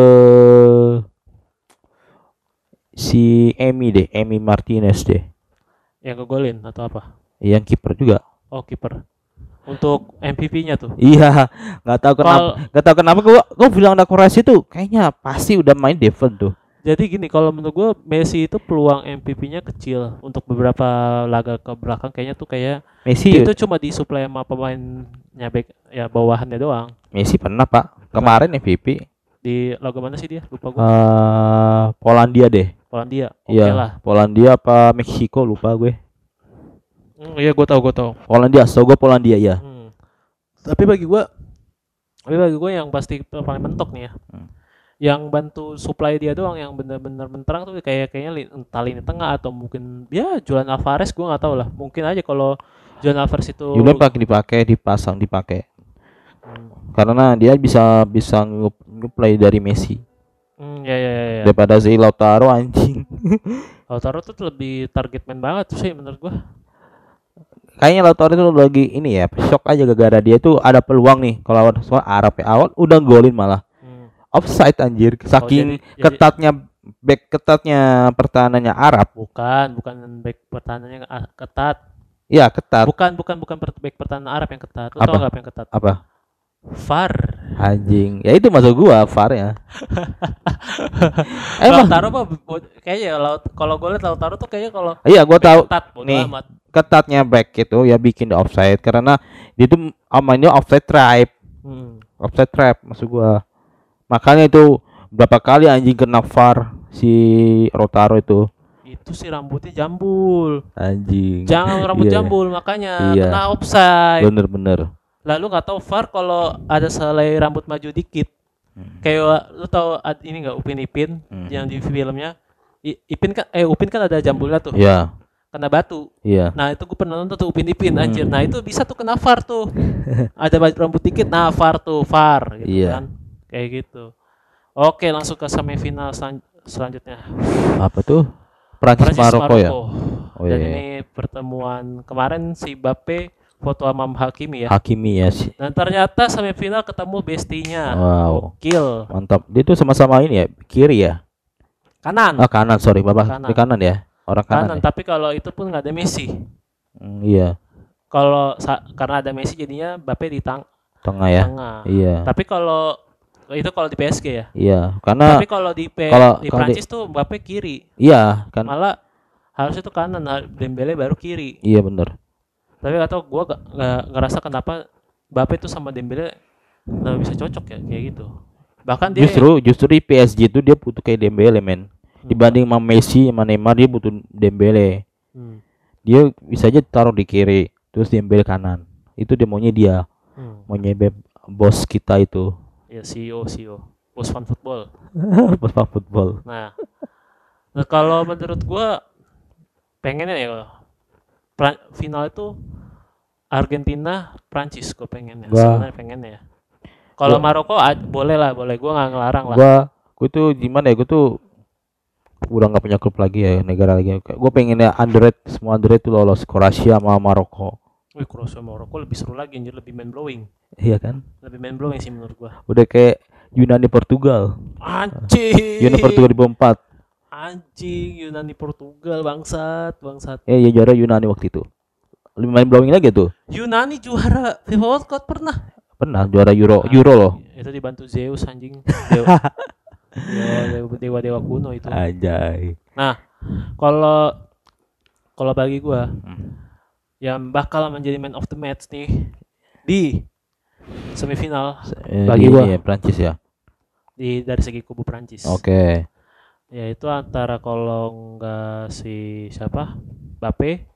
si Emi deh, Emi Martinez deh. Yang ngegolin atau apa? Yang kiper juga. Oh, kiper. Untuk M V P-nya tuh. Iya, nggak tahu kenapa, Kalau nggak tahu kenapa gua gua bilang ada Kroasia tuh kayaknya pasti udah main Devon tuh. Jadi gini, kalau menurut gue Messi itu peluang M V P-nya kecil untuk beberapa laga ke belakang kayaknya tuh kayak Messi dia tuh cuma disuplai sama pemainnya back ya bawahannya doang. Messi pernah Pak kemarin M V P Di laga mana sih dia? Lupa gue. eh Polandia deh. Polandia. Oke Iya, lah. Polandia apa Meksiko lupa gue. Hmm, iya gue tahu gue tahu. Polandia, setahu gue Polandia ya. Hmm. Tapi bagi gue, tapi bagi gue yang pasti paling mentok nih ya. Hmm. Yang bantu supply dia doang yang benar-benar menterang tuh kayak kayaknya li- entah lini tengah atau mungkin ya Julian Alvarez gue nggak tahu lah. Mungkin aja kalau Julian Alvarez itu Julian pakai dipakai, dipasang, dipakai. Hmm. Karena dia bisa bisa nge-play dari Messi. Hmm, ya ya ya. ya. Daripada si Lautaro anjing. Lautaro tuh lebih target man banget sih menurut gua. Kayaknya Lautaro itu lagi ini ya, shock aja gara-gara dia tuh ada peluang nih kalau lawan soal Arab ya. Awal udah golin malah. Hmm. Offside anjir, saking jadi- jadi- ketatnya back ketatnya pertahanannya Arab. Bukan, bukan back pertahanannya ah, ketat. Iya, ketat. Bukan, bukan, bukan per- back pertahanan Arab yang ketat. Lu Apa? tau nggak apa yang ketat? Apa? V A R. Anjing. Ya itu masuk gua V A R ya. Emang Lautaro mah bo- kayaknya laut kalau gue liat Lautaro tuh kayaknya kalau iya gua back tahu ketat bodo nih. amat. Ketatnya back itu ya bikin di offside karena dia tuh mainnya offside trap. Hmm. Offside trap maksud gua. Makanya itu berapa kali anjing kena V A R si Lautaro itu. Itu sih rambutnya jambul. Anjing. Jangan rambut Iya. jambul makanya Iya. kena offside. Bener-bener. Lalu nggak tahu V A R kalau ada selai rambut maju dikit. Hmm. Kayak lu tahu ad- ini nggak Upin Ipin Hmm. yang di filmnya I- Ipin kan eh Upin kan ada jambulnya tuh Iya, kena batu. iya. Nah itu gue pernah nonton tuh Upin Ipin Hmm. anjir. Nah itu bisa tuh kena V A R tuh. Ada baju rambut dikit, nah V A R tuh V A R gitu Iya. kan. Kayak gitu. Oke langsung ke semifinal selan- selanjutnya. Apa tuh? Prancis Maroko ya. Oh, Dan iya. ini pertemuan kemarin si Bape foto sama Hakimi ya. Hakimi ya sih. Dan ternyata semifinal ketemu bestinya. Wow. Gokil. Mantap. Dia tuh sama-sama ini ya, kiri ya. Kanan. Ah kanan, sorry Bapak. Kanan. Di kanan ya. Orang kanan. Kanan, ya? tapi kalau itu pun nggak ada Messi. Hmm, iya, Kalau sa- karena ada Messi jadinya Mbappe di tang- tengah ya. tengah. Iya. Tapi kalau itu kalau di P S G ya. Iya, karena Tapi kalau di P- kalau- di kalau di- Prancis tuh Mbappe kiri. iya kan. Malah harusnya tuh kanan, har- Dembele baru kiri. Iya bener. Tapi gak tau gue gak, gak ngerasa kenapa Mbappe tuh sama Dembele nggak bisa cocok ya kayak gitu. Bahkan dia Justru justru di P S G itu dia butuh kayak Dembele men. Hmm. Dibanding sama Messi sama Neymar dia butuh Dembele. Hmm. Dia bisa aja taruh di kiri, terus Dembele kanan. Itu dia maunya dia, Hmm. maunya beb- bos kita itu. Ya C E O C E O Bos Fan Football. Bos Pak football. Nah, nah kalau menurut gua pengennya ya pra- final itu Argentina Prancis gue pengennya. Gua- Sebenarnya pengennya ya. Kalau Gua- Maroko ad- boleh lah, boleh. Gua nggak ngelarang lah. Gua gua tuh gimana ya, gua tuh udah nggak punya klub lagi ya, negara lagi. Gue pengennya underrated, semua underrated tuh lolos, Kroasia sama Maroko. Wih, Kroasia Maroko lebih seru lagi, anjir, lebih mind blowing. Iya kan? Lebih mind blowing sih menurut gua. Udah kayak Yunani Portugal. Anjing. Yunani Portugal dua ribu empat. Anjing, Yunani Portugal bangsat, bangsat. Eh, ya juara Yunani waktu itu. Lebih main blowing lagi tuh. Yunani juara FIFA World Cup pernah. Pernah juara Euro, Euro loh. Itu dibantu Zeus anjing. Dewa, dewa, dewa, dewa kuno itu. Anjay. Nah, kalau kalau bagi gua Hmm. yang bakal menjadi man of the match nih di semifinal Eh, Bagi di gua. ini ya, Prancis ya. di dari segi kubu Prancis. Oke. Ya itu antara kalau enggak si siapa? Mbappe.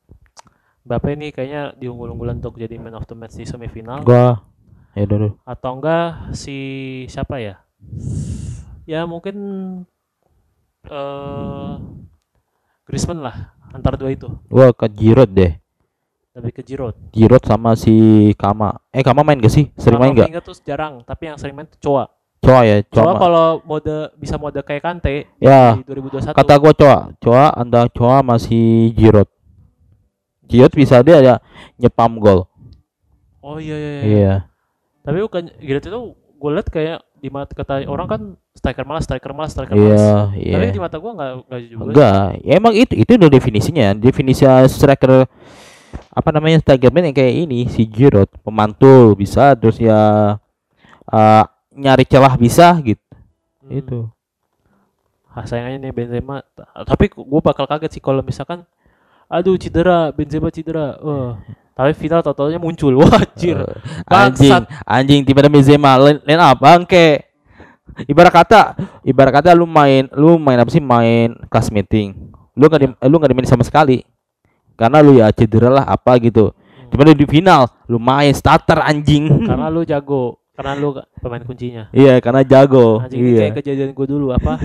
Mbappe nih kayaknya diunggul-unggulan untuk jadi man of the match di semifinal. Gua ya dulu. Atau enggak si siapa ya? Ya mungkin eh Griezmann lah, antara dua itu. Gua ke Giroud deh. Lebih ke Giroud. Giroud sama si Kama. Eh, Kama main gak sih? Sering main gak? Kamavinga tuh jarang, tapi yang sering main tuh Coa. Coa ya, Coa Coa. ma- kalau mode bisa mode kayak Kante Ya, di dua ribu dua puluh satu. kata gua Coa. Coa antara Coa masih Giroud. Giroud bisa dia ada nyepam gol. Oh iya iya. iya. Iya. Tapi bukan Giroud itu gue liat kayak di mata kata orang kan striker malas, striker malas, striker Iya, malas. iya. Tapi di mata gue nggak nggak juga. Enggak, ya emang itu itu udah definisinya. Definisi striker apa namanya, striker man yang kayak ini si Giroud, pemantul bisa, terus ya uh, nyari celah bisa gitu. Hmm. Itu. ah, sayangnya nih Benzema. Tapi gue bakal kaget sih kalau misalkan aduh cedera, Benzema cedera. Wah. Tapi final totalnya muncul. Wah, anjir. Uh, anjing, Bangsat. anjing tiba-tiba Benzema line, line up bangke. Ibarat kata, ibarat kata lu main, lu main apa sih? Main class meeting. Lu nggak di, lu nggak dimain sama sekali. Karena lu ya cedera lah apa gitu. Hmm. Cuman di final lu main starter anjing. Karena lu jago, karena lu pemain kuncinya. Iya, karena jago. Anjing ini Iya. kayak kejadian gue dulu apa?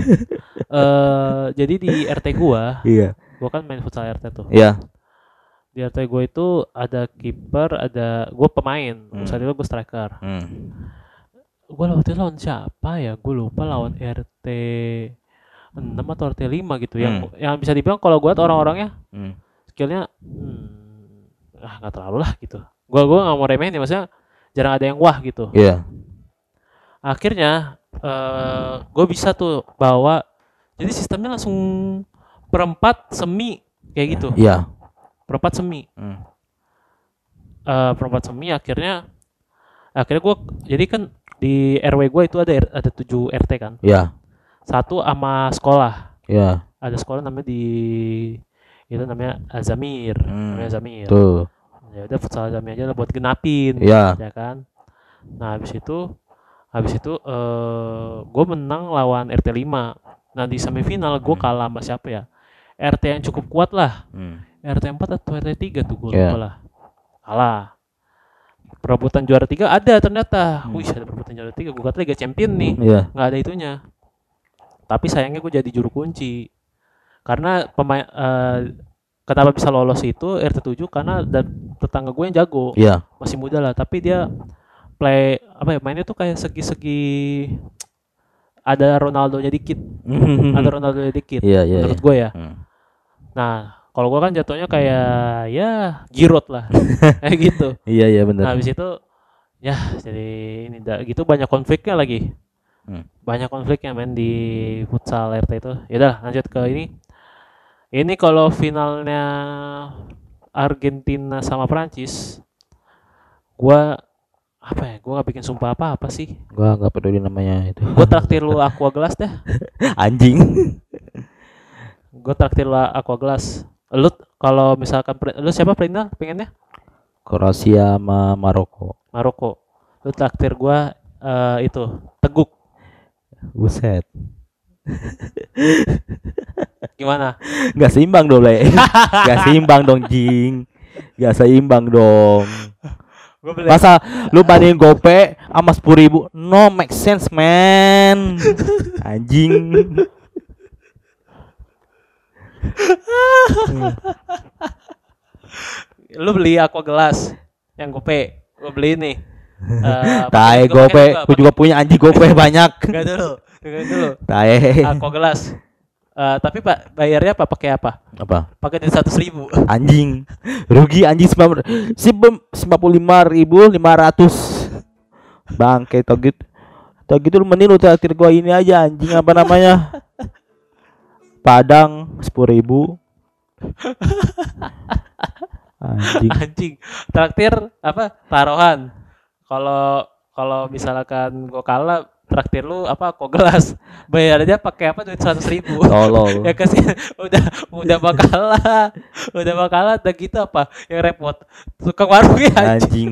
Eh jadi di R T gua, Iya. gua kan main futsal R T tuh. Iya. Di R T gua itu ada kiper, ada gua pemain. Hmm. Saat itu gua striker. Hmm. Gua lawan lawan siapa ya? Gua lupa lawan R T enam atau R T lima gitu yang Hmm. yang bisa dibilang kalau gua liat orang-orangnya Hmm. skillnya hmm, ah nggak terlalu lah gitu. Gua gua nggak mau remehin ya, maksudnya jarang ada yang wah gitu. Iya. Akhirnya eh gue bisa tuh bawa, jadi sistemnya langsung perempat semi kayak gitu, Iya. perempat semi. Hmm. Eh perempat semi akhirnya akhirnya gue jadi kan di R W gue itu ada ada tujuh R T kan, Iya. satu sama sekolah, Iya. ada sekolah namanya di itu namanya Azamir, Hmm. namanya Azamir. Tuh. Ya udah futsal Azamir aja lah buat genapin, Iya. ya kan. Nah habis itu habis itu eh gue menang lawan R T lima. Nah di semifinal gue Hmm. kalah sama siapa ya, R T yang cukup kuat lah, Hmm. R T empat atau R T tiga tuh gue Iya. lupa lah, kalah. Perebutan juara tiga ada ternyata. Hmm. Wih ada perebutan juara tiga, gue kata Liga Champion nih, Iya. nggak ada itunya. Tapi sayangnya gue jadi juru kunci karena pemain eh, kenapa bisa lolos itu R T tujuh karena ada tetangga gue yang jago, Iya. masih muda lah, tapi dia play apa ya, mainnya tuh kayak segi-segi ada Ronaldonya dikit, ada Ronaldonya dikit Iya, iya. menurut gue ya. Hmm. Nah kalau gue kan jatuhnya kayak ya Giroud lah kayak gitu. Iya, iya Nah benar. habis itu ya jadi ini dah gitu, banyak konfliknya lagi, Hmm. banyak konfliknya main di futsal R T itu. Ya udah lanjut ke ini. Ini kalau finalnya Argentina sama Prancis, gua apa ya? Gua nggak bikin sumpah apa-apa sih. Gua nggak peduli namanya itu. Gua traktir lu aqua gelas dah. Anjing. Gua traktir lu aqua gelas. Lu kalau misalkan pre- lu siapa final pengennya? Kroasia sama Maroko. Maroko. Lu traktir gua eh, itu teguk. Buset. Gimana? Gak seimbang dong, Le. Gak seimbang dong, Jing. Gak seimbang dong. Gua beli. Masa lu bandingin gope sama sepuluh ribu? No make sense, man. Anjing. Lu beli aqua gelas yang gope. Gua beli nih. Eh, Tae pakai juga, gope, pakai gua juga punya anjing gope banyak. Enggak dulu, dengerin dulu. Tae. Aqua gelas. Eh, tapi Pak bayarnya apa pakai apa? Apa? Pakai dari seratus ribu. Anjing. Rugi anjing sembilan puluh lima ribu lima ratus. Bangke tau gitu. Tau gitu lu mending lu traktir gua ini aja anjing, apa namanya? Padang sepuluh ribu. Anjing. Anjing. Traktir apa? Taruhan. Kalau kalau misalkan gua kalah, traktir lu apa? Aqua gelas. Bayarnya pakai apa? Duit seratus ribu. Tolol. Ya kasih udah udah bakalah. Udah bakalah udah gitu apa? Yang repot. Tukang warungnya anjing. Anjing.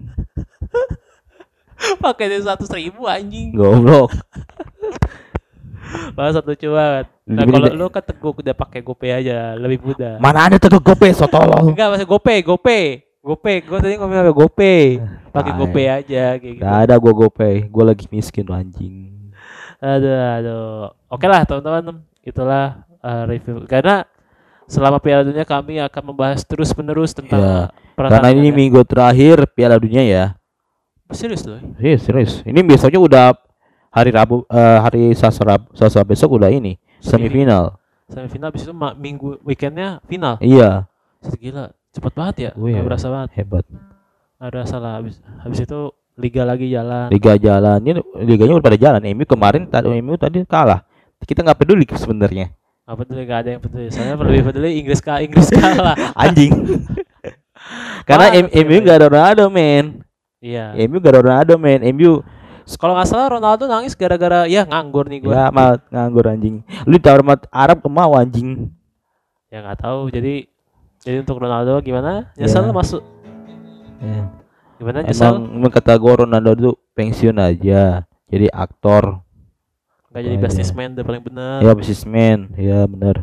Pakai duit seratus ribu anjing. Goblok. Malah satu banget. Nah, Lebih kalau gede. lu kan teguk udah pakai GoPay aja, lebih mudah. Mana ada tuh gope so tolol. Enggak, masih GoPay, GoPay. GoPay, gua tadi ngomong apa GoPay. Pakai Tai. GoPay aja kayak gitu. Gak ada gua gope. Gua lagi miskin lu anjing. Aduh, aduh. Oke lah teman-teman, itulah uh, review. Karena selama Piala Dunia kami akan membahas terus-menerus tentang Iya. Karena pertandingan ini ya. minggu terakhir Piala Dunia ya. Serius loh. Iya serius. Ini besoknya udah hari Rabu, eh, hari Selasa, Rab- Selasa besok udah ini semifinal. Semifinal habis itu ma- minggu weekendnya final. Iya. Set, gila, cepet banget ya. Oh, iya. Nggak berasa banget. Hebat. Nggak berasa lah. Habis, habis itu liga lagi jalan. Liga jalan. Ini liganya udah pada jalan. M U kemarin tadi M U tadi kalah. Kita nggak peduli sebenarnya. Apa peduli, gak ada yang peduli. Soalnya lebih peduli Inggris kalah, Inggris kalah. Anjing. Karena Wah, M- MU nggak ada Ronaldo men. Iya. M U gak ada Ronaldo men. M U Kalau nggak salah Ronaldo nangis gara-gara ya nganggur nih gue. Ya mah nganggur anjing. Lu ditawar sama Arab kemau anjing. Ya nggak tahu. Jadi jadi untuk Ronaldo gimana? Nyesel Ya. masuk. Ya. Gimana nyesel? Emang, emang kata gue Ronaldo tuh pensiun aja. Jadi aktor. Nggak jadi Oh, businessman udah paling benar. Ya businessman. Ya benar.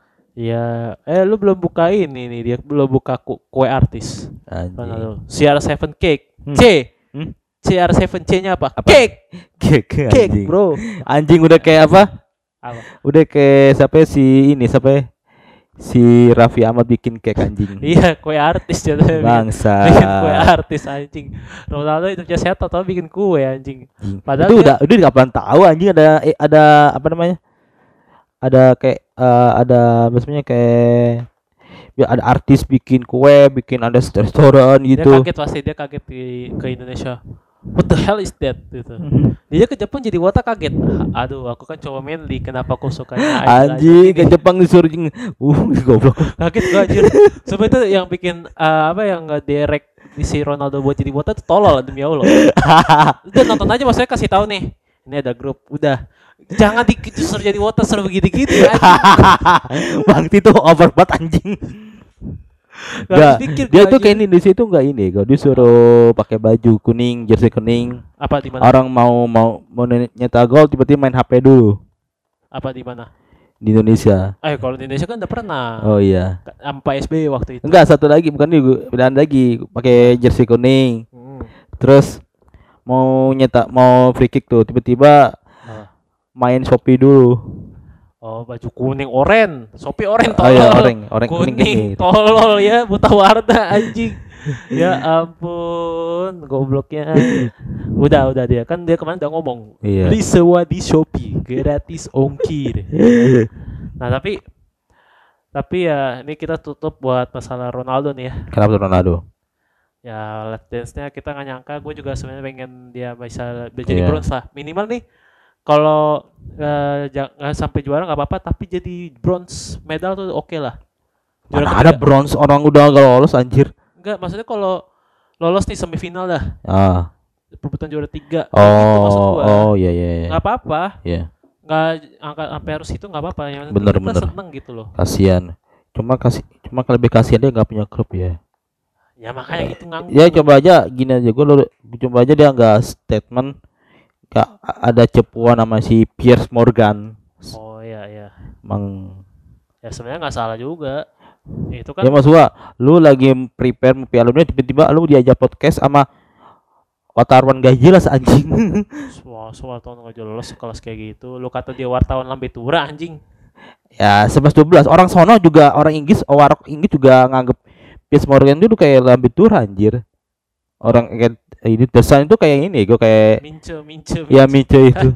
Iya. Eh lu belum buka ini nih dia belum buka ku- kue artis. Anjing. Ronaldo. C R tujuh Cake. Hmm. C. Hmm? C R tujuh C-nya apa? Apa? Cake. Cake, Cake, anjing. bro. Anjing udah kayak apa? Apa? Udah kayak siapa ya, si ini siapa ya? Si Raffi Ahmad bikin cake anjing. Iya, kue artis jatuhnya. bikin- Bangsa. Bikin kue artis anjing. Ronaldo itu punya setan atau bikin kue anjing. Anjing. Padahal itu dia- udah udah kapan tahu anjing ada eh, ada apa namanya? Ada kayak eh, ada maksudnya kayak ya ada artis bikin kue, bikin ada restoran Dia gitu. kaget pasti dia kaget di ke Indonesia. What the hell is that gitu. Dia ke Jepang jadi wata kaget. Aduh, aku kan cowok manly, kenapa aku sukanya Anjing ke Jepang disuruh jing. Uh, goblok. Kaget gua anjir. Sumpah itu yang bikin eh, apa yang nggak direct di si Ronaldo buat jadi wata itu tolol demi Allah. Udah nonton aja maksudnya kasih tahu nih. Ini ada grup, udah. Jangan disuruh jadi wota suruh begitu-gitu ya. Bang itu over banget anjing. Gak Nggak, habis pikir dia gua tuh anjir. kayak Indonesia itu enggak ini, kalau disuruh pakai baju kuning, jersey kuning. Apa di mana? Orang mau mau mau nyetak gol tiba-tiba main H P dulu Apa di mana? di Indonesia. Eh kalau di Indonesia kan udah pernah. Oh iya. Sampai S B Y waktu itu. Enggak, satu lagi bukan nih, bedaan lagi pakai jersey kuning. Hmm. Terus mau nyetak mau free kick tuh tiba-tiba Ah. main Shopee dulu. Oh baju kuning oren, Shopee oren Oh tolol. iya, oranye, oranye kuning kuning gini. tolol ya, buta warna anjing. Ya ampun, gobloknya. Udah udah dia kan dia kemarin udah ngomong. Iya. Beli sewa di Shopee, gratis ongkir. Nah tapi tapi ya ini kita tutup buat masalah Ronaldo nih ya. Kenapa tuh Ronaldo? Ya let dance-nya kita nggak nyangka, gue juga sebenarnya pengen dia bisa jadi Iya. bronze lah. Minimal nih kalau eh, jangan sampai juara nggak apa-apa, tapi jadi bronze medal tuh oke lah. Juara Mana ada ketiga. bronze, orang udah gak lolos anjir. Enggak, maksudnya kalau lolos nih semifinal dah, Ah. perebutan juara tiga. kayak gitu maksud Oh, gua. oh iya iya iya. Nggak apa-apa, Iya, nggak angkat sampai harus itu nggak apa-apa. Yang penting Bener, kita bener. seneng gitu loh. kasihan. Cuma kasih cuma lebih kasihan dia nggak punya klub ya. Ya makanya gitu nganggur. Ya coba aja gini aja, gue coba aja dia nggak statement, nggak ada cepuan sama si Piers Morgan. Oh iya iya. Emang Ya sebenarnya nggak salah juga. Itu kan ya mas gua, lu lagi prepare mau Piala Dunia tiba-tiba lu diajak podcast sama wartawan gak jelas anjing. Wah, soal tahun nggak jelas kelas kayak gitu. Lu kata dia wartawan lambe tura anjing. Ya sebelas dua belas orang sono juga, orang Inggris, orang Inggris juga nganggep Piers Morgan itu kayak lambe tur anjir. Orang kayak ini desain itu kayak ini, gue kayak Mince, mince, mince. ya Mice itu.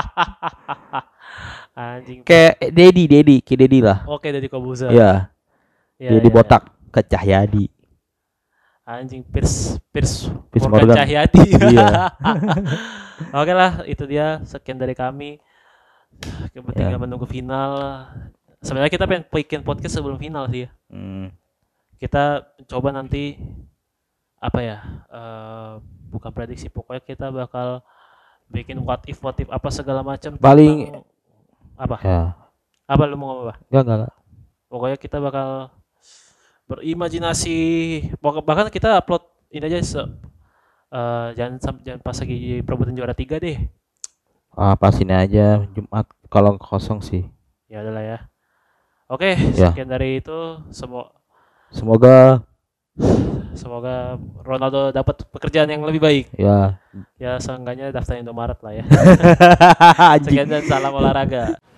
Anjing. Kayak Dedi, Dedi, kayak Dedi lah. Oke dari Kobuzer. Ya, Ya, Dedi ya, botak ke Cahyadi. ya. Anjing Piers Piers Piers Morgan Morgan. Cahyadi. Iya. Oke lah, itu dia sekian dari kami. Yang penting Ya. menunggu final. Sebenarnya kita pengen bikin podcast sebelum final sih ya. Hmm. Kita coba nanti apa ya? eh, bukan prediksi, pokoknya kita bakal bikin what if what if apa segala macam. Paling- tentang- apa? Ya, Apa lu mau ngomong apa? enggak enggak. enggak. Pokoknya kita bakal berimajinasi. Pokok- Bahkan kita upload ini aja se- eh, jangan sam- jangan pas lagi perebutan juara tiga deh. Ah, pas ini aja Jumat kalau kosong sih. Ya adalah ya. Oke, Ya. sekian dari itu. Semua Semoga semoga Ronaldo dapat pekerjaan yang lebih baik. ya Ya seenggaknya daftar Indomaret lah ya. anjing. Sekian dan salam olahraga.